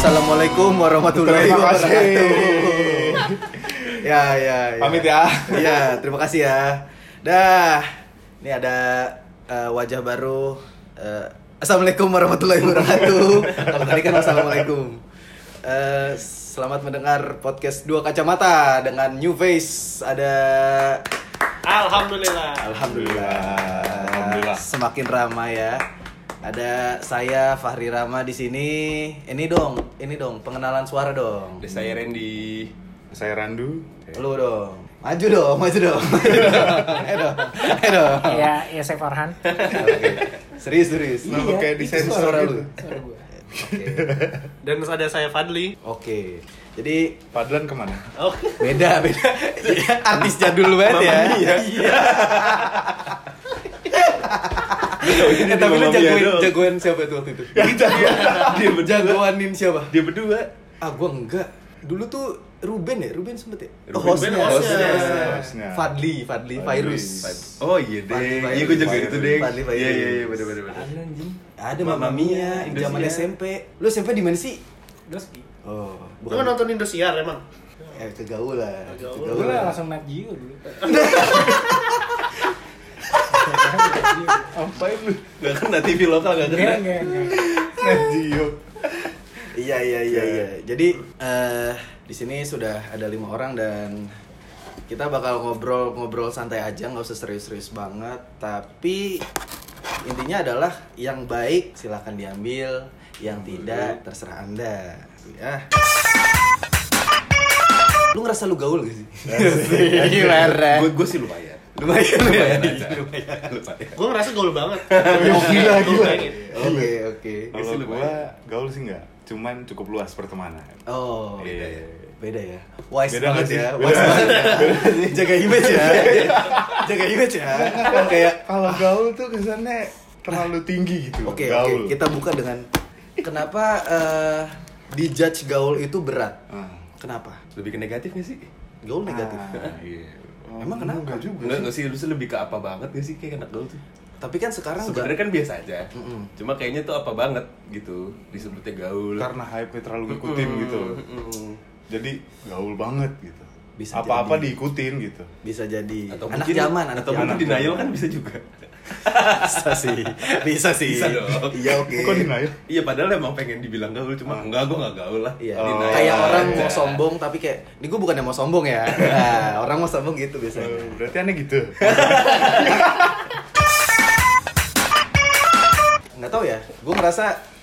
Assalamualaikum warahmatullahi wabarakatuh. Ya. Pamit ya. Iya, terima kasih ya. Dah. Ini ada wajah baru. Assalamualaikum warahmatullahi wabarakatuh. Kalau tadi kan assalamualaikum. Selamat mendengar podcast Dua Kacamata dengan new face. Ada Alhamdulillah. Semakin ramai ya. Ada saya Fahri Rama di sini. Ini dong, pengenalan suara dong. Ada saya Randy. Saya Randu. Lu dong. Maju dong. Ayo dong. Ya saya Farhan. Serius. Kenapa kayak desain suara lu? Suara gue. Oke. Dan ada saya Fadli. Oke. Jadi Padlan kemana? Oke. beda. Artis jadul banget ya. Iya. Tapi lu jagoan siapa itu waktu itu? Jagoanin siapa? Dia berdua. Gua enggak. Dulu tuh Ruben sempet ya? Ruben hostnya. Fadli, Virus. Oh iya deh. Iya gue jago itu deh. Fadli Virus. Iya bener. Ada Mamma Mia, zaman SMP. Lu SMP di mana sih? Doski. Oh, Lu kan nonton Indosiar emang? Kegaulan. Gue langsung Nat Geo dulu. Apain lu? Gak kena TV lokal, gak kena. Enggak. Najio. Iya. Jadi di sini sudah ada 5 orang dan kita bakal ngobrol santai aja, nggak usah serius-serius banget. Tapi intinya adalah yang baik silahkan diambil, yang tidak terserah Anda. Ya. Lu ngerasa lu gaul gak sih? Gimana? Gue sih lumayan. Lumayan. Gue ngerasa gaul banget. Gila. Oke. Kalau gue gaul sih enggak, cuman cukup luas pertemanan. Oh, Iya. beda ya. Wise Beda banget nggak sih? ya. Beda. Wise banget ya. Jaga image ya. Kan kayak Kalau gaul tuh kesannya terlalu tinggi gitu. Oke. Gaul. Kita buka dengan kenapa dijudge gaul itu berat? Kenapa? Lebih ke negatif gak sih? Gaul negatif. Iya. Emang kenapa? Enggak juga. Enggak sih, lu lebih ke apa banget gak sih kayak anak gaul tuh? Tapi kan sekarang Sebenarnya kan biasa aja. Mm-mm. Cuma kayaknya tuh apa banget gitu disebutnya gaul. Karena hype-nya terlalu ngikutin gitu. Jadi gaul banget gitu. Bisa Apa-apa jadi. diikutin gitu. bisa jadi Atau anak mungkin, zaman, atau mungkin zaman. denial kan bisa juga. Bisa sih. Bisa dong. Iya, oke. Kok denial? Iya padahal emang pengen dibilang gaul, cuma enggak, gue gak gaul lah. Iya. Oh, Kayak orang aja. mau sombong tapi kayak ini gue bukannya mau sombong ya. Nah, orang mau sombong gitu biasanya. Berarti aneh gitu. Nggak tahu ya, gue ngerasa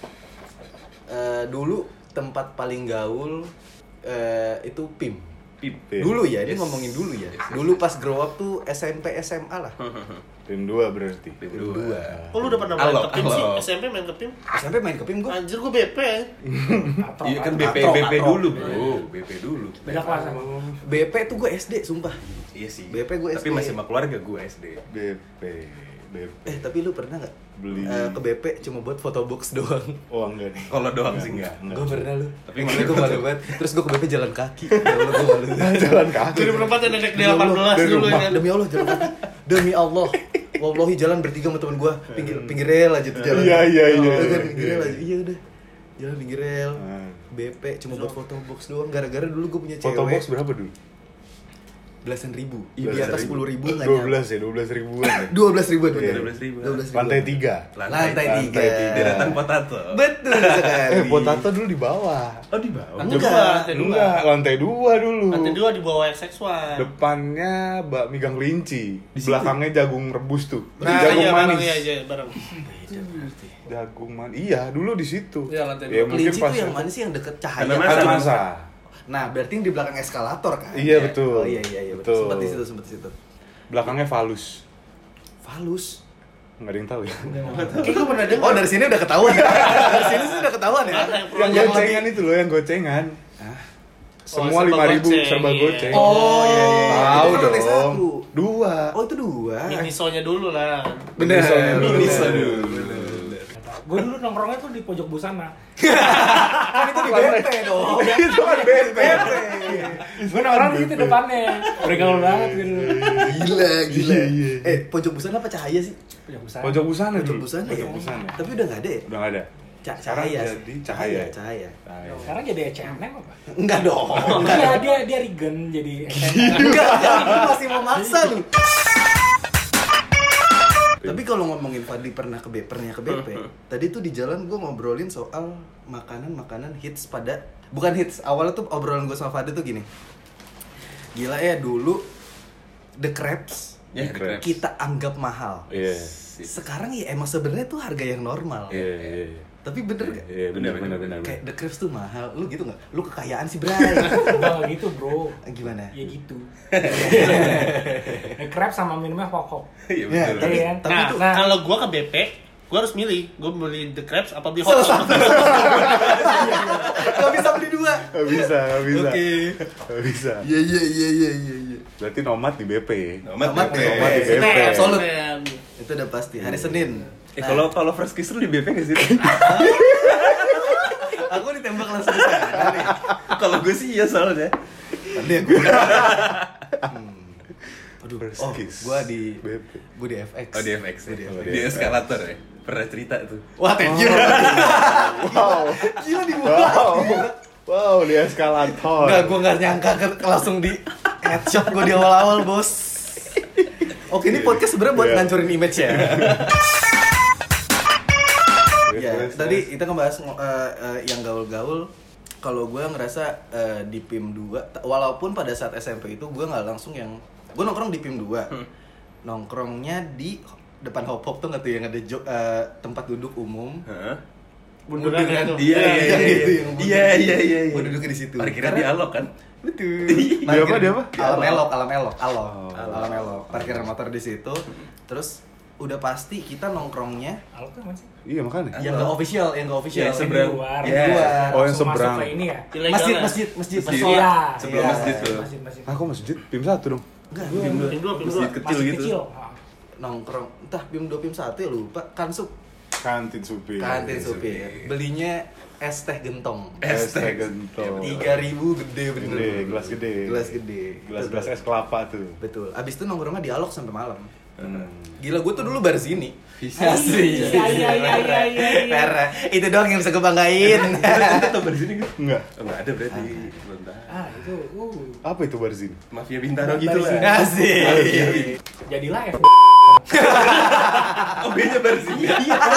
dulu tempat paling gaul itu PIM. Pip. Dulu ya, ini Yes. ngomongin dulu ya. Yes. Dulu pas grow up tuh SMP SMA lah. Tim 2 berarti. Pip Dua. Oh lu udah pernah main Halo, ke PIM sih? halo. SMP main ke PIM? SMP main ke PIM gue. Anjir gue BP ya. Iya kan Katro. BP dulu bro, BP dulu. Beda kelas sama. BP tuh gue SD, sumpah. Iya sih. BP gue Tapi SD. masih sama keluarga gue SD. BP. Tapi lu pernah nggak Beli. ke BP cuma buat foto box doang? Oh enggak nih. Kalau doang sih enggak. Gue pernah lu. Tapi Tapi malu gue malu banget. Terus gue ke BP jalan kaki. Ya Allah, gue malu. Jalan kaki. Jadi perempat yang nenek di Demi Allah, 18 dari dulu rumah. kan. Demi Allah jalan kaki. Demi Allah. Wallahi jalan bertiga sama temen gue. Pinggir rel aja tuh jalan. Iya. Udah kan pinggir rel aja. Iya udah. Jalan pinggir rel. BP cuma buat foto box doang. Gara-gara dulu gue punya cewek. Foto box berapa dulu? Belasan ribu. Di atas 10.000 nggak 12 ya, 12 ribuan ya. 12 ribuan Iya. 12.000. Lantai 3. Lantai 3. Deretan potato. Betul sekali. Potato dulu di bawah. Oh di bawah. Enggak, lantai 2 dulu. Lantai 2 di bawah seksual. Depannya bakmi gang kelinci, situ? belakangnya jagung rebus tuh. Nah, jagung iya bareng manis. iya bareng. Jagung manis. Iya, dulu di situ. Iya, lantai Ya, dua. mungkin Kelinci pas tuh yang mana sih yang deket cahaya? Karena Kaca Masa. masa. Nah, berarti yang di belakang eskalator kan? Iya, betul. Oh iya betul. Sempat di situ. Belakangnya falus. Falus. Enggak ada yang tahu ya. Kayak gue pernah dengar. Oh, dari sini udah ketahuan. Dari sini sih udah ketahuan ya. Mana Yang yang gocengan itu loh, yang gocengan. Hah? Semua serba 5.000 goceng, serba iya. goceng. Oh, iya. Tahu Itu lantai dong. 1. 2. Oh, itu 2. Minisonya dulu lah. Bener. Miniso dulu. Gue dulu nongkrongnya tuh di pojok busana. Kan itu di BP dong. Itu kan BP. Gue nongkrong di situ depannya. Bergaul banget gue dulu. Gila. Iya. Pojok busana apa cahaya sih? Pojok busana. Pojok busana Pojok dulu. busana ya. Pojok busana. Tapi udah enggak ada ya? Udah nggak ada. Sekarang Cahaya. jadi Cahaya. Cahaya. Sekarang jadi H&M apa? Enggak dong. Dia regen jadi Enggak, lu masih mau maksa lu. Tapi kalau ngomongin Fadli pernah ke BP, tadi tuh di jalan gue ngobrolin soal makanan hits bukan hits, awalnya tuh obrolan gue sama Fadli tuh gini. Gila ya dulu The Crepes Ya, The Crepes. kita anggap mahal. Iya. Sekarang ya emang sebenarnya tuh harga yang normal. Iya. Tapi bener gak? Iya, benar. Kayak The Crepes tuh mahal, lu gitu gak? Lu kekayaan sih, Bray. Enggak gitu, Bro. Gimana? Ya gitu. Crab sama minumnya pokok. Iya Ya, betul. tapi, Iya kan? tapi Nah, tuh Kalau gua ke BP, gua harus milih. Gua beli The Crepes apa beli hot salah dog. satu. Gak bisa beli dua. Gak bisa. Oke. Gak bisa. Iya. Berarti nomad di BP. Nomad Nomad BP. ya. di BP. Absolut. Absolut. Itu udah pasti hari Senin. Kalau Fresh Kiss lu di BP nggak sih? Aku ditembak langsung di sana nih. Kalau gue sih iya soalnya. Tadi aku. Aduh, First Kiss. gua di BP. FX. Oh di FX Gua di ya. FX. Di eskalator ya. Pernah cerita tuh. Wah, thank you. Wow. Gila dibuka. Wow, di eskalator. Enggak, gua enggak nyangka langsung di headshot gua di awal-awal, Bos. Oke, ini podcast sebenarnya buat Iya. ngancurin image ya. Ya, Terus, tadi kita ngebahas yang gaul-gaul. Kalau gue ngerasa di PIM 2, walaupun pada saat SMP itu gue nggak langsung yang gue nongkrong di PIM 2, nongkrongnya di depan Hop Hop tuh nggak tuh yang ada tempat duduk umum. Heeh. Bundaran itu. Iya iya. Gue duduknya di situ. Parkiran di Alok kan? Betul. Di apa, di apa? Alam elok. Parkiran motor di situ. Terus udah pasti kita nongkrongnya Alok tuh masih Iya, makanya. yang nggak official, Yang seberang. di luar. Iya. Di luar. Oh, yang Langsung seberang. masuk ke ini ya. Ilegal Masjid. ya? Masjid. Iya. Sebelum Iya. masjid tuh. Masjid. Ah, kok masjid? PIM 1 dong. Enggak, PIM 2. Masjid kecil Masjid gitu. kecil. nongkrong entah PIM 2 PIM 1 ya lupa Kantin Supir. supir belinya es teh gentong Es teh gentong. 3.000 gede bener Gelas gede. Gelas es kelapa tuh. betul abis itu nongkrongnya dialog sampai malam Hmm. gila gue tuh dulu bar sini Asli. Iya. parah itu doang yang bisa gue banggain Kita tahu bar sini kan? Enggak. Oh, enggak ada berarti. Belum tahu. Ah, itu Apa itu bar sini? Mafia Bintaro gitu Bar lah. asik jadilah F. Oh, beda bar sini.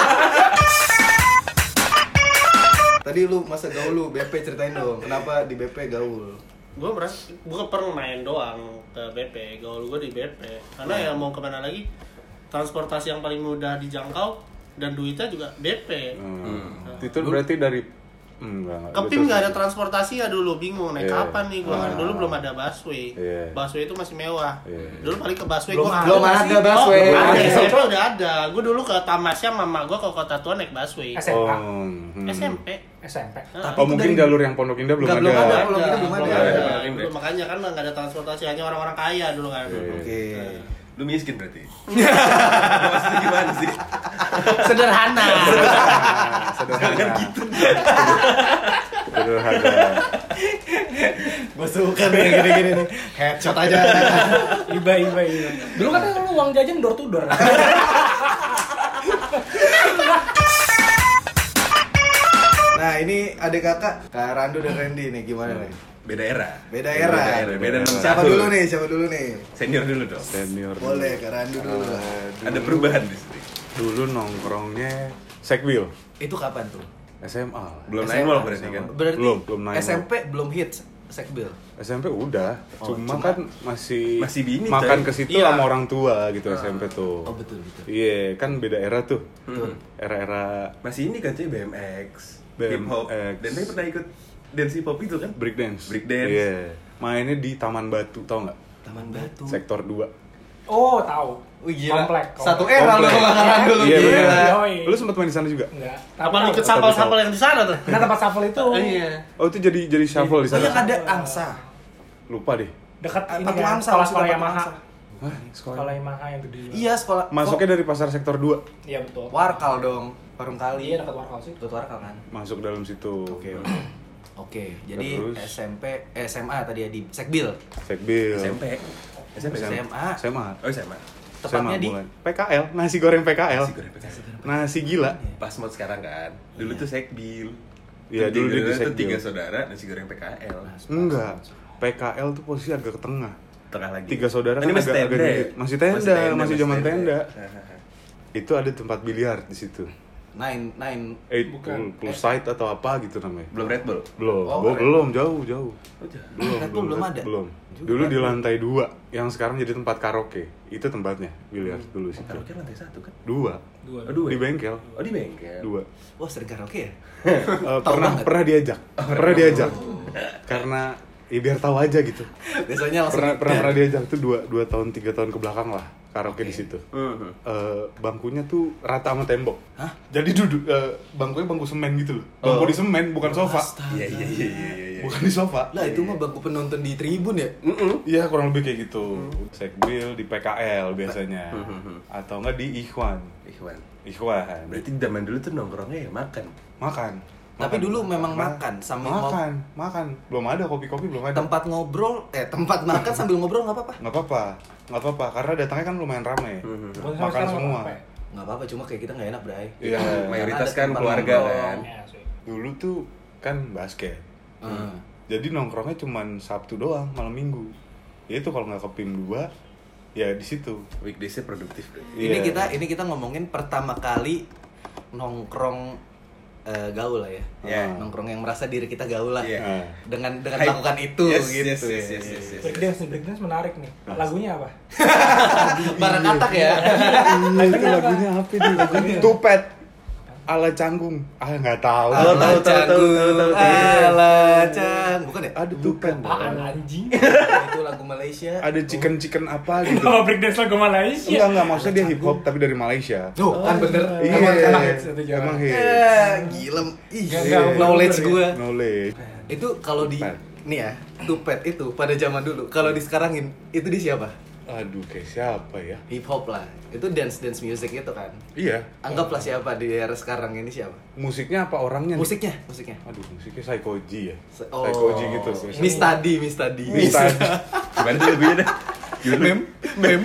tadi lu masa gaul lu BP ceritain dong kenapa di BP gaul Gue merasa gue pernah main doang ke BP, gaul gue di BP. Karena ya mau kemana lagi, transportasi yang paling mudah dijangkau dan duitnya juga BP. Itu berarti dari enggak. Ke PIM nggak ada transportasi ya dulu, bingung naik Iya. kapan nih gue kan dulu belum ada busway. Iya. Busway itu masih mewah. Iya. Dulu paling ke busway Belum gua belum nggak ada sih. busway. Oh, ada, Ada. SMP udah ada. Gue dulu ke Tamasya mama gue ke Kota Tua naik busway. SMA. SMP. SMP. Tapi Oh, itu mungkin dari- jalur yang Pondok Indah belum Nggak, ada. belum ada. Pondok Indah belum ada. Dulu makanya kan nggak ada transportasi, hanya orang-orang kaya dulu kan. oke Lu miskin berarti. Maksudnya gimana sih? Sederhana. Sederhana gitu. Sederhana. gue suka nih yang gini-gini nih headshot aja Iba. Dulu kan lu uang jajan door to door. nah ini adik kakak Kak Randu dan Randy nih gimana nih Beda era. beda era Beda siapa dulu nih Senior dulu dong. Senior. boleh Kak Randu dulu lah Ada perubahan di sini. Dulu nongkrongnya Sekbil itu kapan tuh SMA. Belum SMA. 9 berarti kan. berarti Belum naik. SMP belum hits Sekbil SMP udah, Oh, cuma cuma- kan masih bini, makan coy. ke situ Iya. sama orang tua gitu SMP tuh. oh betul Iya, kan beda era tuh. Betul. Era-era Masih ini kan cuy BMX, BMX. hip hop. Dan saya pernah ikut dance hip hop itu kan. breakdance. Breakdance. Iya. Mainnya di Taman Batu, tau nggak? Taman Batu Sektor 2. Oh, tahu. Wih, gila. Komplek. Satu era lu Komplek. sama Kak Randu lu Iya, gila. bener. Yoi. Lu sempat main di sana juga? Enggak. Apa lu ikut sampel-sampel yang di sana tuh? Nah, tempat shuffle itu Iya. Oh, itu jadi shuffle di Oh, yang sana. ada angsa Lupa deh. dekat ini Patung kan, Angsa, sekolah maksudnya Patung Yamaha. Angsa. Hah, sekolah. Sekolah Yamaha yang gede. Iya sekolah Masuknya dari pasar sektor 2. Iya betul. Warkal dong warung kali Iya dekat Warkal sih. Ikut Warkal kan Masuk dalam situ. Oke, jadi Terus? SMA tadi ya di Sekbil. Sekbil. SMP kan? SMA SMA. Oh SMA. Tepatnya di PKL, nasi goreng PKL. Nasi goreng PKL. Nasi gila. Pas mod sekarang kan. Dulu tuh Sekbil. Iya, dulu dia di tuh Sekbil. 3 saudara nasi goreng PKL. Enggak. PKL tuh posisi agak ke tengah. Tengah lagi. 3 saudara Ini kan masih agak tenda. dikit. Masih masih zaman tenda. Hahaha. Itu ada tempat biliar di situ. Nine. Pool side atau apa gitu namanya. Belum Red Bull. Belum. Oh, belum jauh. Red Bull belum ada. Belum. Juga. Dulu di lantai 2 yang sekarang jadi tempat karaoke. Itu tempatnya biliar dulu sih. Karaoke lantai 1 kan? 2. Oh, 2. Di bengkel. Oh, di bengkel. 2. Wah, sering karaoke ya? Pernah diajak. Karena ya biar tahu aja gitu. Biasanya langsung Pernah diajak tuh 2 tahun 3 tahun ke belakang lah karaoke di situ. Bangkunya tuh rata sama tembok. Hah? Jadi duduk bangkunya bangku semen gitu loh. Bangku di semen bukan sofa. Iya. Bukan di sofa. Lah itu mah bangku penonton di tribun ya? Iya kurang lebih kayak gitu. Sekbil di PKL biasanya. Atau enggak di Ikhwan. Ikhwan. Berarti zaman dulu tuh nongkrongnya ya makan. Tapi dulu memang makan sambil makan. Belum ada kopi-kopi belum ada. tempat makan sambil ngobrol nggak apa-apa? Nggak apa-apa karena datangnya kan lumayan ramai. Makan semua. Nggak apa-apa, cuma kayak kita nggak enak, Bray. Iya. Mayoritas Ada kan tempat keluarga nongkrong. kan. Dulu tuh kan basket. Jadi nongkrongnya cuman Sabtu doang, malam Minggu. Ya itu kalau nggak ke PIM 2 ya di situ. Weekdays-nya produktif berarti. Iya. Ini kita ngomongin pertama kali nongkrong gaul lah ya. Iya. Nongkrong yang merasa diri kita gaul lah. Iya. Dengan Hype. melakukan itu Yes, gitu. yes. Breakdance menarik nih. Lagunya apa? Barang katak ya. Itu lagunya apa nih? Lagunya Tupet ala canggung. Nggak tahu. Ala canggung, ala cang. Bukan ya? Ada Tupet. Apaan anjing? Itu lagu Malaysia. Ada chicken apa gitu. Kalau breakdance lagu Malaysia. Enggak, maksudnya dia hip hop tapi dari Malaysia. Tuh, kan bener. Iya, emang hits itu jangan. emang hits. Gila. Ih, Nggak, knowledge bener gue. Knowledge. Itu kalau di Tupet. nih ya, Tupet itu pada zaman dulu. Kalau di sekarangin itu di siapa? Aduh, kayak siapa ya? Hip hop lah. Itu dance music itu kan. Iya. Anggaplah siapa di era sekarang ini siapa? Musiknya apa orangnya? nih? Musiknya. Aduh, musiknya Psychoji ya. Oh. Psychoji gitu. Miss Tadi. Gimana tuh lagunya dah? Mem.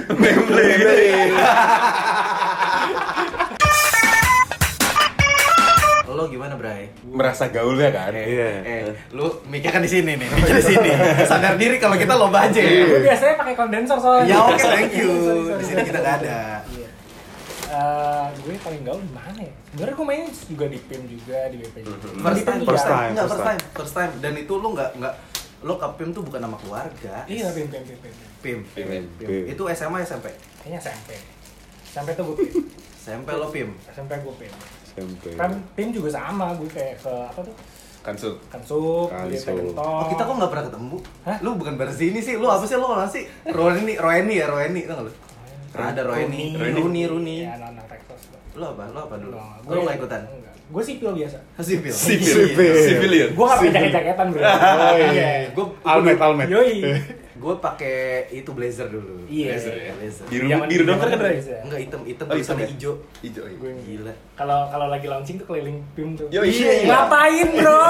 Lo gimana, Bray? Merasa gaulnya kan? Iya. Lu mikir kan di sini nih, mikir di sini. Sadar diri kalau kita lo budget. Gue biasanya pakai kondensor soalnya. Ya oke, thank you. Sorry. Di sini kita nggak ada. Iya. Gue paling gaul di mana ya? Sebenarnya gue main juga di PIM juga, di BP juga. First time. Dan itu lu nggak lo ke PIM tuh bukan nama keluarga. Iya, PIM. PIM. Itu SMA SMP. Kayaknya SMP. SMP tuh gue PIM. SMP lo PIM. SMP gue PIM. SMP. Kan PIM juga sama, gue kayak ke apa tuh? Kansuk. Kansuk, Kansuk. di Pentok. Oh, kita kok nggak pernah ketemu? Hah? Lu bukan baru sini sih. Lu apa sih? Lu orang sih? Roeni, tau nggak lu? Ada Roeni. Ya, anak Texas. Lu apa dulu? Gue Lu nggak ikutan? Gue sipil biasa. Sipil. Civilian. Gue nggak pakai jaket-jaketan bro. Oh iya. Gue Almet. Yoi. gue pakai itu blazer dulu. Iya. Blazer. Biru dokter kan Ray? Enggak hitam Oh, hitam sama ya? hijau. Hijau. Gue Gila. kalau lagi launching tuh keliling PIM tuh. Yo, iya. Ngapain bro?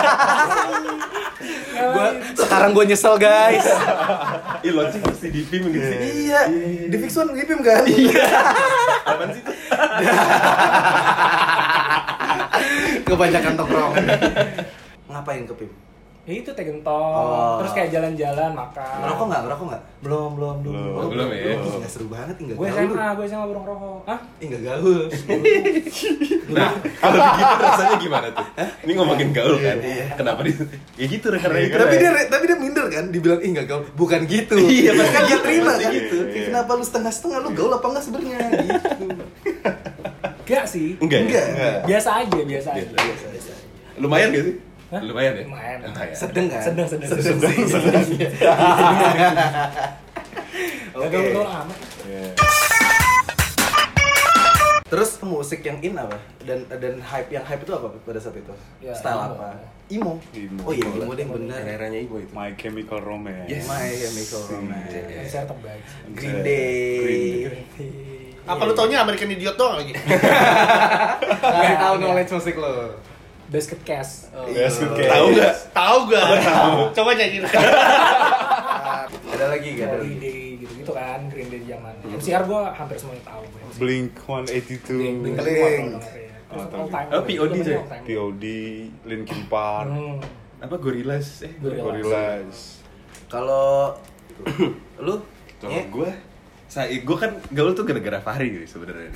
Sekarang gue nyesel guys. Ih, launching pasti di film gitu sih. Iya. Di Fix One di PIM kan? Iya. Apaan sih tuh? Kebanyakan tongkrong. Ngapain ke PIM? Ya itu tegentok, Oh. terus kayak jalan-jalan makan. Ngerokok nggak? Belum. Belum ya? Ih, nggak seru banget, nggak Gue gaul. SMA belum rokok. Hah? Nggak gaul. Nah, kalau begitu rasanya gimana tuh? Ini ngomongin gaul kan? Kenapa di? Ya gitu karena itu. Tapi dia minder kan, dibilang ih nggak gaul. Bukan gitu. Iya, kan dia terima pasti kan gitu. Kayak kenapa lu setengah-setengah, lu gaul apa enggak sebenarnya gitu. Enggak sih. Enggak. Biasa aja. Lumayan gak sih? Hah? Lumayan ya? Lumayan. Sedeng kan? Sedang. sih. Gak Oke. gaul amat. Terus musik yang in apa? Dan hype itu apa pada saat itu? Ya, Style emo. apa? Emo. Oh iya, emo deh bener. Eranya ibu itu. My Chemical Romance. Yes. My Chemical Romance. Konser terbaik. Green Day. Apa lu taunya American Idiot doang lagi? Nggak tahu knowledge musik lo. Basket Cast. Basket Case. Tahu nggak? Tahu gak? Coba nyanyiin. Ada lagi gak? Ada lagi. Holiday gitu-gitu. itu kan, Green Day zaman. MCR gue hampir semuanya tahu. Blink-182. Blink. Terus all time. Oh, POD Zamannya sih. all time. POD, Linkin Park, Apa Gorillaz? Gorillaz. Kalau lu Kalau Nye? gue kan gaul tuh gara-gara Fahri gitu sebenarnya.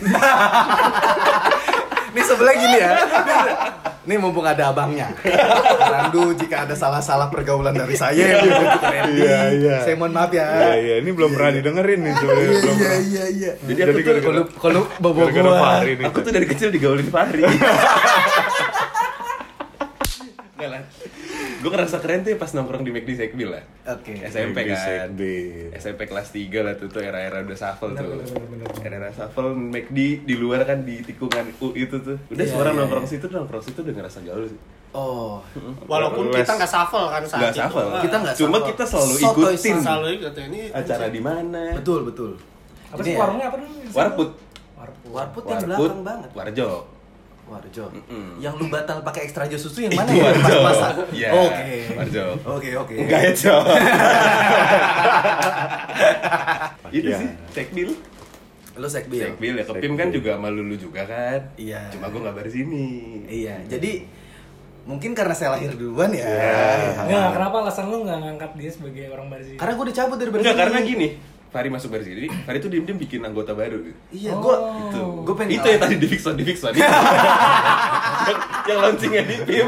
Nih sebelah gini ya. Nih mumpung ada abangnya. Randu jika ada salah-salah pergaulan dari saya Iya. Saya mohon maaf ya. Iya, ini belum pernah didengerin nih sebenarnya. Belum pernah. Iya. Jadi aku tuh Kalau bobo Gara-gara gua. Fahri nih. aku tuh dari kecil digaulin Fahri. Enggak lah. Gue ngerasa keren tuh pas nongkrong di McD Sekbil lah. Oke. SMP McD kan. Sekbil. SMP kelas 3 lah tuh era-era udah shuffle tuh. Bener. Era-era shuffle McD di luar kan di tikungan U itu tuh. Udah Iya, semua orang iya, nongkrong situ udah ngerasa gaul sih. Oh. Walaupun kita nggak shuffle kan saat Nggak itu. shuffle. Kita nggak Cuma shuffle. kita selalu Sotoy ikutin Selalu ikut ini acara di mana. Betul. Apa Ini sih ya, warungnya apa dulu? Warput. Warput yang belakang banget. Warjo. Warjo. Mm-mm. Yang lu batal pakai ekstra jus susu yang mana Itu ya? Warjo. Pas-pasan. Iya. Oke. Warjo. Oke. Enggak ya, Cok. Itu Iya. sih, Sekbil. Lu sekbil. Sekbil ya, ke PIM kan juga sama Lulu juga kan. Iya. Cuma gue gak baris ini. Iya. Jadi mungkin karena saya lahir duluan ya. Nggak, kenapa alasan lu nggak ngangkat dia sebagai orang Barzini? Karena gue dicabut dari Enggak, Barzini. karena gini. Fahri masuk baris ini, Fahri tuh diem-diem bikin anggota baru gitu. Iya, gue Oh. gue pengen Itu yang tadi di Fixon yang launchingnya di PIM.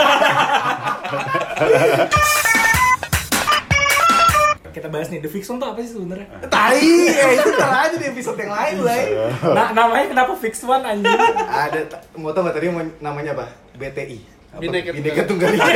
Kita bahas nih, The Fiction tuh apa sih sebenarnya? tai, itu ntar aja di episode yang lain lah. Nah, namanya kenapa Fix One anjing? Ada mau tau nggak tadi namanya apa? BTI. Bineka Tunggal Ika.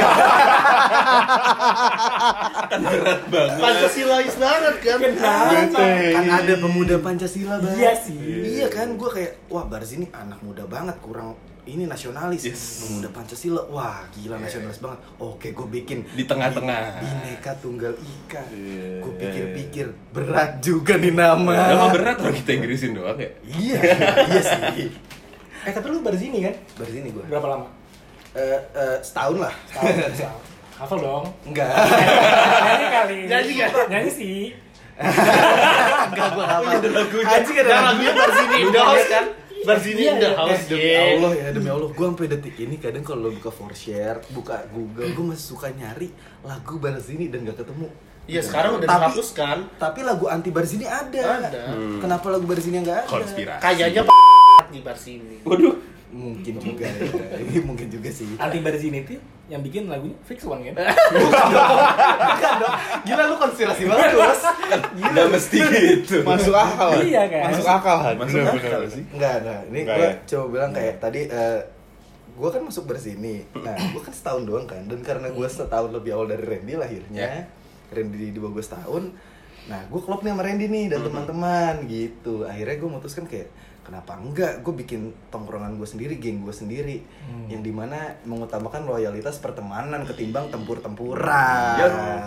Kan berat banget. Pancasilais banget kan. Kan ada pemuda Pancasila bang. Iya sih. Iya kan, gue kayak wah Barzini anak muda banget, kurang ini nasionalis. Yes. Pemuda Pancasila, wah gila nasionalis banget. Oke, gue bikin Di tengah-tengah. Bineka Tunggal Ika. Iya, Gue pikir-pikir berat juga nih nama. Emang berat orang kita Inggrisin doang ya? Iya, iya sih. Tapi lu Barzini kan? Barzini gue. Berapa lama? Setahun lah. Tahun. Hafal dong. Enggak. Nyanyi kali. Nyanyi kan? Nyanyi sih. Enggak gue hafal. Ada lagunya. Anjing ada Dan lagunya. lagunya Barzini in the house kan? Barzini in the house. Demi Allah ya, demi Allah. Gue sampai detik ini kadang kalau lo buka 4Share, buka Google, gue masih suka nyari lagu Barzini dan gak ketemu. Iya, sekarang udah Tapi- dihapuskan. Tapi lagu anti Barzini ada. Ada. Kenapa lagu Barzini yang gak ada? Konspirasi. Kayaknya di Barzini. Waduh. Mungkin juga ya. Ini mungkin juga sih. Anti Barzini itu yang bikin lagunya Fix One kan? Bukan dong. Gila lu konspirasi banget, Bos. Nggak mesti gitu. Masuk akal. Iya, kan? Masuk akal. Masuk akal sih. Enggak. Ini Enggak, gue ya? coba bilang kayak tadi gue kan masuk Barzini. Nah, gue kan setahun doang kan. Dan karena gue setahun lebih awal dari Randy lahirnya. Randy di bawah gue setahun. Nah, gue klop nih sama Randy nih dan teman-teman gitu. Akhirnya gue memutuskan kayak kenapa enggak, gue bikin tongkrongan gue sendiri, geng gue sendiri, yang dimana mengutamakan loyalitas pertemanan ketimbang tempur-tempuran.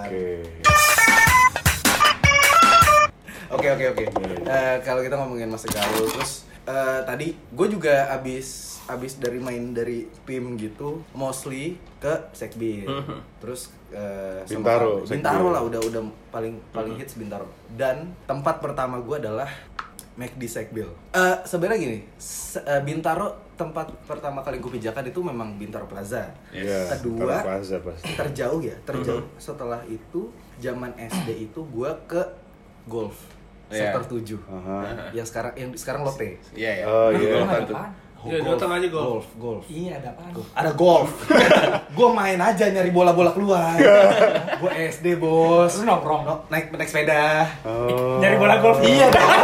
Oke. Kalau kita ngomongin masa gaul, terus tadi gue juga abis dari main dari PIM gitu, mostly ke Sekbil, terus Bintaro, Bintaro Sekbil. lah, udah paling hits Bintaro. Dan tempat pertama gue adalah McD Sekbil. Sebenarnya gini, Bintaro tempat pertama kali gue pijakan itu memang Bintaro Plaza. Iya. Kedua, Plaza pasti. terjauh. Setelah itu zaman SD itu gue ke Golf Iya. sektor 7. Aha. Yang sekarang Lotte. Iya ya. Oh, Itu iya. apaan tuh? Iya, di Lotte aja golf. Golf. Iya, ada apaan? Ada golf. Gue main aja nyari bola-bola keluar. Gue SD, Bos. Terus nongkrong. Naik sepeda. Oh. Dari bola golf. Iya dong.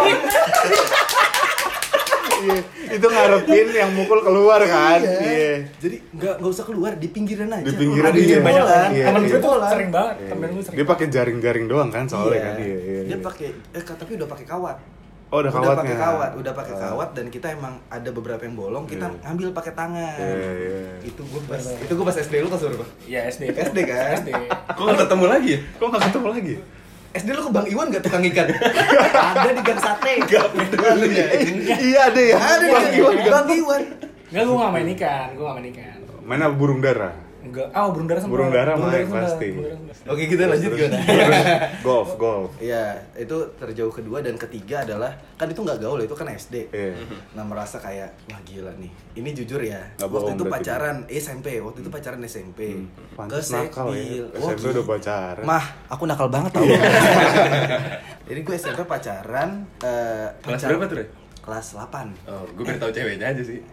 Iya. Itu ngarepin yang mukul keluar kan? Iya. Jadi nggak usah keluar, di pinggiran aja. Di pinggiran, Ada iya. banyak kan. Iya, Temen iya. gue tuh sering banget. Temen gue sering. Dia pakai jaring-jaring doang kan soalnya Iya. kan? Iya. Dia pakai tapi udah pakai kawat. Oh, udah kawatnya. Udah pakai kawat dan kita emang ada beberapa yang bolong, kita ngambil pakai tangan. Iya. Itu gue pas SD, lu pas berapa? Iya, SD. SD kan? SD. Kok nggak ketemu lagi ya? Kok nggak ketemu lagi? SD lu ke Bang Iwan gak tukang ikan? Ada di Gang Sate. Nggak peduli ya. Iya ada ya. Ada Bang di Iwan. Bang Iwan. Enggak, gue gak main ikan. Main apa burung dara? Enggak. Burung dara sempat. Burung dara main sempat. pasti. Burung dara sempat. Oke, kita lanjut gimana? Golf. Iya, itu terjauh kedua dan ketiga adalah kan itu nggak gaul, itu kan SD. Iya. Nah, merasa kayak wah gila nih. Ini jujur ya. Nggak Waktu bohong itu berarti. pacaran SMP, waktu itu pacaran SMP. Ke Pantes nakal ya. Sekbil. SMP gila. udah pacaran. Mah, aku nakal banget tau. Jadi gue SMP pacaran Kelas berapa tuh, Re? Kelas 8. Oh, gue baru tahu ceweknya aja sih.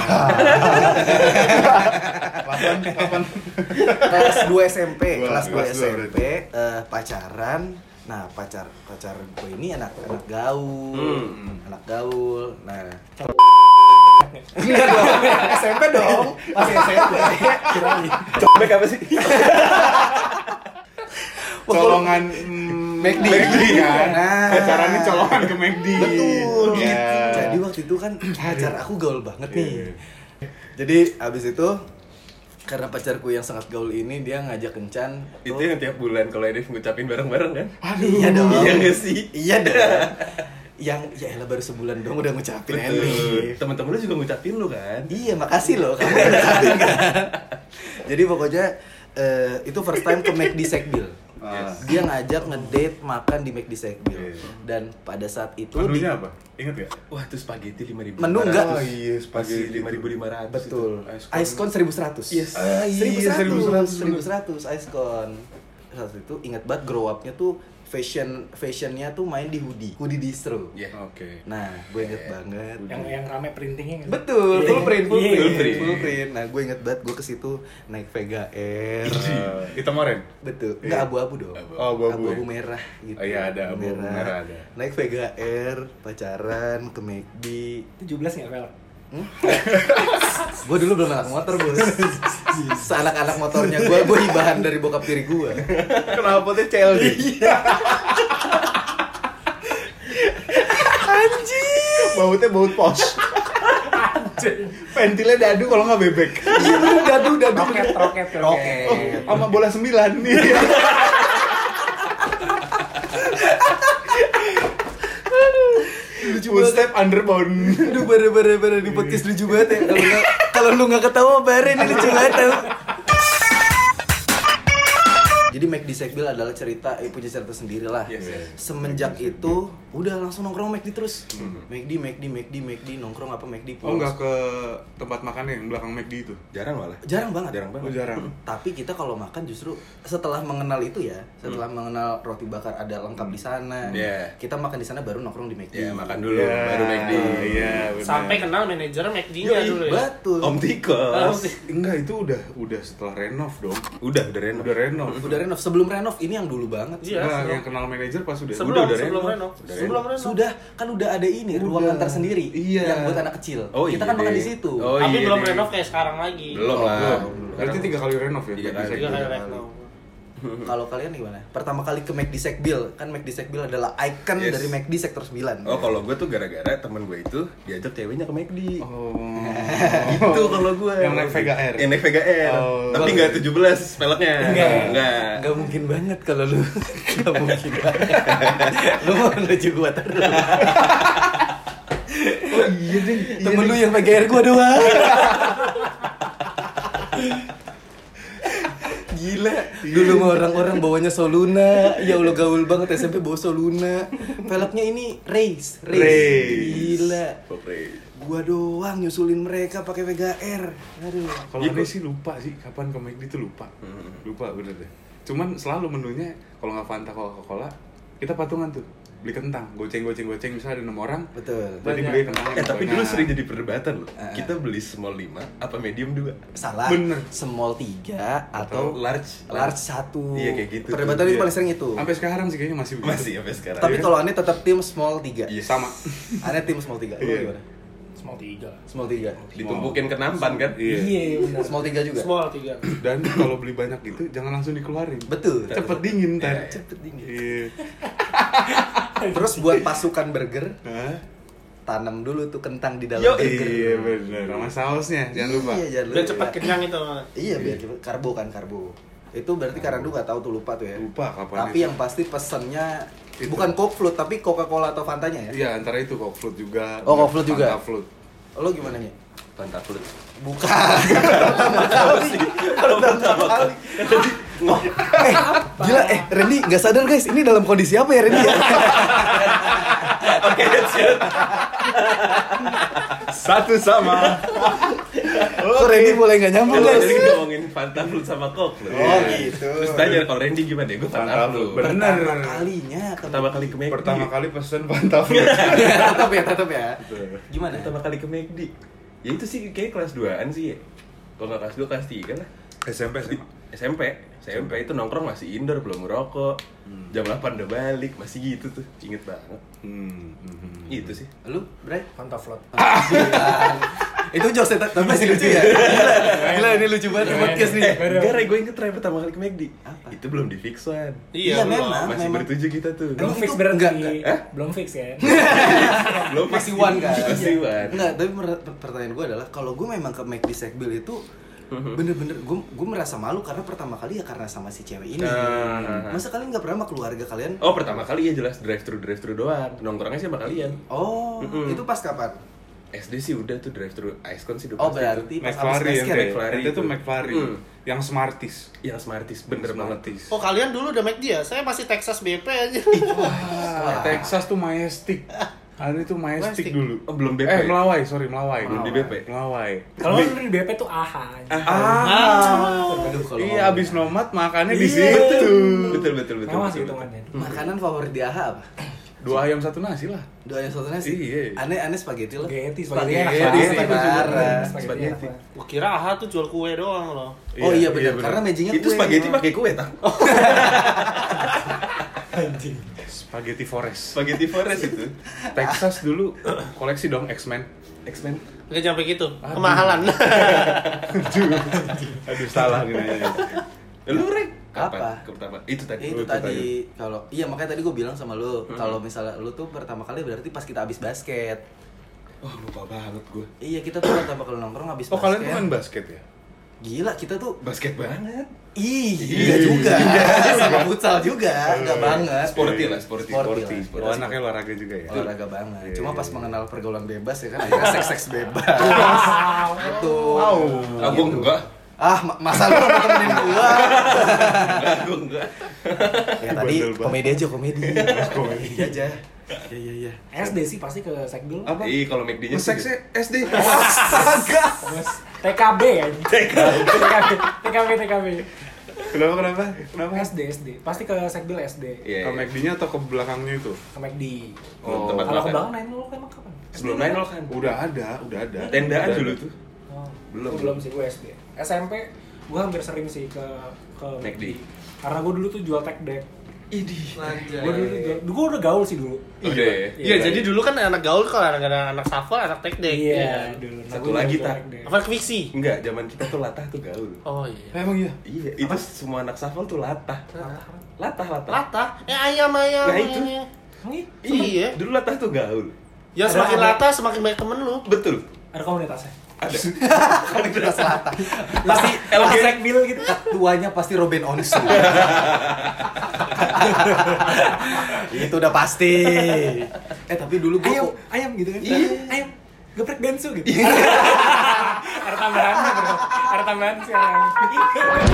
Kelas 2 SMP, kelas 2 kelas dua SMP pacaran. Nah, pacar gue ini anak gaul. Anak gaul. Nah, enggak dong, SMP dong. Masih SMP. Kirain. Cobek apa sih? Colongan McD. kan. Nah. Pacarannya colongan ke McD. Betul Ya. gitu. Jadi waktu itu kan pacar aku gaul banget nih. Iya. Jadi abis itu karena pacarku yang sangat gaul ini dia ngajak kencan. Itu yang tiap bulan kalau Edif ngucapin bareng-bareng kan? Iya dong. Iya nggak sih? Iya dong. Yang ya elah baru sebulan dong udah ngucapin Betul. Edif. Temen-temen lu juga ngucapin lu kan? Iya, makasih loh kamu yang ngucapin kan. Jadi pokoknya itu first time ke McD Sekbil. Dia ngajak ngedate makan di McD Sekbil. Dan pada saat itu Menunya apa? Ingat gak? Wah, itu spaghetti 5.000. Menu enggak? Oh iya, Spaghetti spaghetti 5.500. Betul. Ice Ice cone 1.100. Yes. iya, 1.100 ice cone. Saat itu ingat banget grow up-nya tuh fashionnya tuh main di hoodie distro. Iya. Oke. Nah, gue inget banget. Yang rame printingnya. Betul, Iya, full print. iya. Full print. Nah, gue inget banget gue ke situ naik Vega Air. Hitam oren? Betul. Enggak abu-abu dong. Oh, abu-abu. Abu-abu merah gitu. Oh, iya, ada abu-abu merah ada. Naik Vega Air, pacaran ke McD. 17 enggak velg? Gue dulu belum anak motor, Bos. Seanak-anak motornya gue hibahan dari bokap tiri gue. Kenapa potnya CLD? Anjing. Bautnya baut pos. Ventilnya dadu kalau nggak bebek. Dadu. Roket. Oh, sama bola 9 nih. Full step underbound. Aduh, bare di podcast lucu banget ya. Kalau lu nggak ketawa bare ini lucu banget tau. Jadi McD Sekbil adalah punya cerita sendiri lah. Yes, yes. Semenjak itu udah langsung nongkrong McD terus. McD nongkrong apa McD Oh, nggak ke tempat makan yang belakang McD itu? Jarang malah. Jarang banget. Jarang banget. Oh, jarang. Tapi kita kalau makan justru setelah mengenal itu ya, setelah mengenal roti bakar ada lengkap di sana. Yeah. Kita makan di sana baru nongkrong di McD. Ya, makan dulu Ya, baru McD. Iya, benar. Sampai kenal manajer McD-nya dulu ya. Betul. Om Tikos. Enggak, itu udah setelah renov dong. Udah renov. Udah renov. Udah renov. Sebelum renov ini yang dulu banget. Iya. Nah, sebelum- yang kenal manajer pas udah. Sebelum udah sebelum renov. renov. Udah Sebelum renov. Sudah, kan udah ada ini Udah. ruangan tersendiri Iya. yang buat anak kecil. Oh, kita iya kan makan deh. di situ. Oh, Tapi iya belum deh. renov kayak sekarang lagi. Belum lah. Berarti 3 kali renov ya? Tiga McD kali. Sekbil? 3 kali renov. Kalau kalian gimana? Pertama kali ke McD Sekbil, kan McD Sekbil adalah icon Yes. dari McD Sektor 9. Oh, kalau gue tuh gara-gara temen gue itu diajak ceweknya ke McD. Oh. Gitu kalau gue. Yang naik Vega Air. Yang naik Vega Air. Oh. Tapi nggak 17 peleknya. Enggak. Gak mungkin banget kalau lu. Gak mungkin banget. Lu mau menuju gua terus. Oh iya deh. Temen lu yang PGR gua doang. Gila, dulu mah orang-orang bawanya Soluna. Ya Allah gaul banget SMP bawa Soluna. Velgnya ini Race. Gila. Oke. Gua doang nyusulin mereka pakai Vega Air. Aduh. Kalau aneh sih lupa sih kapan ke McD itu lupa. Lupa bener deh. Cuman selalu menunya kalau nggak Fanta Coca-Cola kita patungan tuh. Beli kentang, goceng misalnya ada 6 orang. Betul. Berarti beli kentang. Tapi dulu sering jadi perdebatan loh. Ah. Kita beli small 5 apa medium 2? Salah. Bener. Small 3 atau large. 1. Iya, kayak gitu. Perdebatan itu Iya. paling sering itu. Sampai sekarang sih kayaknya masih begitu. Masih sampai sekarang. Tapi kalau Ane tetap tim small 3. Iya. Sama. Ane tim small 3. Lu Iya. gimana? Small 3. Small 3. ditumpukin ke nampan kan? Iya. benar. Small 3 juga. Small 3. Dan kalau beli banyak gitu jangan langsung dikeluarin. Betul. Cepet dingin ntar. Iya. Cepet dingin. Iya. Terus buat pasukan burger, Hah? tanam dulu tuh kentang di dalam Yo, burger. Iya bener. Sama sausnya jangan lupa. Iya, jangan Biar lupa. cepat kenyang itu. Iya, biar cepet. Karbo. Itu berarti karena lu nggak tahu tuh lupa tuh ya. Lupa kapan Tapi itu. yang pasti pesennya Itu. bukan Coke Float tapi Coca-Cola atau Fantanya ya. Iya antara itu Coke Float juga. Oh, Coke Float juga. Fanta Float. Lo gimana nya? Fanta Float. Bukan. Pertama kali. Pertama kali. Gila, Randy nggak sadar guys, ini dalam kondisi apa ya Randy ya? Oke, siap. Satu sama. Kok Randy mulai nggak nyambung Kalau guys? tadi ngomongin Fanta Fruit sama Coke loh. Oh, gitu. Terus tanya kalau Randy gimana ya? Gue Fanta Fruit. Bener. Pertama kalinya. Pertama kali ke McD. Pertama kali pesen Fanta Fruit. tetap ya. Gimana? Pertama kali ke McD. Ya itu sih kayak kelas 2-an sih ya. Kalau nggak kelas 2, kelas 3 lah. SMP itu nongkrong masih indoor, belum ngerokok. Jam 8 udah balik, masih gitu tuh. Inget banget. Itu sih. Lu, Bray? Fanta Float. Itu jokes tapi masih lucu ya? Gila, ini lucu banget di podcast nih. Gara gue inget terakhir pertama kali ke McD. Apa? Itu belum di fix one. Iya, belum. memang. Masih bertujuh kita tuh. Belum Emang fix itu berarti. enggak. Belum fix kan? Belum fix. Masih one kan? Masih one. Enggak, tapi pertanyaan gue adalah kalau gue memang ke McD Sekbil itu bener-bener gue merasa malu karena pertama kali ya karena sama si cewek ini. Masa kalian nggak pernah sama keluarga kalian? Oh, pertama kali ya jelas drive thru doang. Nongkrongnya sih sama kalian. Oh, itu pas kapan? SD sih udah tuh drive thru Icecon sih udah Oh, pasti berarti tuh. pas McFlurry abis yang basket. kayak itu tuh McFlurry. Yang Smarties. Yang Smarties bener banget. Smarties. Oh kalian dulu udah McD ya? Saya masih Texas BP aja. Texas tuh Majestic. Ini tuh Majestic dulu. Oh, belum BP. Melawai. Belum di BP. Melawai. Kalau lu di BP tuh AHA. Aduh, kalau Iya, abis nomad makannya di Iya, situ. Betul. Mewah sih hitungannya. makanan favorit di AHA apa? 2 ayam 1 nasi lah. Doa yang satu nasi. Iya. Aneh spaghetti loh. Spaghetti Spaghetti enak sih, banget. parah. Spaghetti enak banget. Gua kira AHA tuh jual kue doang loh. Oh iya benar, karena matchingnya Itu spaghetti pakai kue tang. Anjing. Spaghetti Forest. Spaghetti Forest itu. Texas dulu koleksi dong X-Men. X-Men. Nggak sampai gitu. Kemahalan. Aduh salah nih nanya. Lu Rek? Apa? Pertama. Itu tadi. Itu tadi kalau iya makanya tadi gue bilang sama lu kalau misalnya lu tuh pertama kali berarti pas kita habis basket. Oh, lupa banget gue. Iya kita tuh pertama kali nongkrong habis Oh, basket. kalian tuh main basket ya? Gila kita tuh Basket banget. iya juga sama futsal juga enggak banget. Sporty lah, sporty. Sporty. Oh, anaknya olahraga juga ya? Olahraga banget. Iya, Cuma iya, pas iya. mengenal pergaulan bebas ya kan akhirnya seks bebas. Itu. Aku enggak. Masa lu mau temenin gua? Aku enggak. Ya tadi Bandel banget. komedi aja komedi. Komedi aja. Iya. SD sih pasti ke Sekbil. Apa? Ih, kalau McD-nya sih. Seksnya SD. Terus TKB ya. TKB. Kenapa? SD. Pasti ke Sekbil SD. Iya. Ke McD-nya atau ke belakangnya itu? Ke McD. Oh, tempat Kalau ke makan. belakang 9 emang kapan? Sebelum 9 kan. Udah ada. Tendaan dulu tuh. Oh, Belum. belum sih gue SD. SMP gue hampir sering sih ke McD. Karena gue dulu tuh jual tech deck. Idih. Gue udah gaul sih dulu. Udah ya. Iya, jadi dulu kan anak gaul kalau anak shuffle, anak tek dek. Iya, dulu. Satu Gua lagi, jual Tak. tech deck. Apa fiksi? Enggak, zaman kita tuh latah tuh gaul. Oh iya. Emang iya? Iya, itu semua anak shuffle tuh latah. Latah. Latah? Ayam. Nah, itu. Emang iya? Iya. Dulu latah tuh gaul. Ya semakin latah semakin banyak temen lu. Betul. Ada komunitasnya. Ada. Komunitas selatan. Pasti LG. Sekbil gitu. Ketuanya pasti Robin Onsu. Itu udah pasti. Tapi dulu gua Ayam gitu kan? Iya. Ayam. Geprek densu gitu. Ada tambahan sekarang.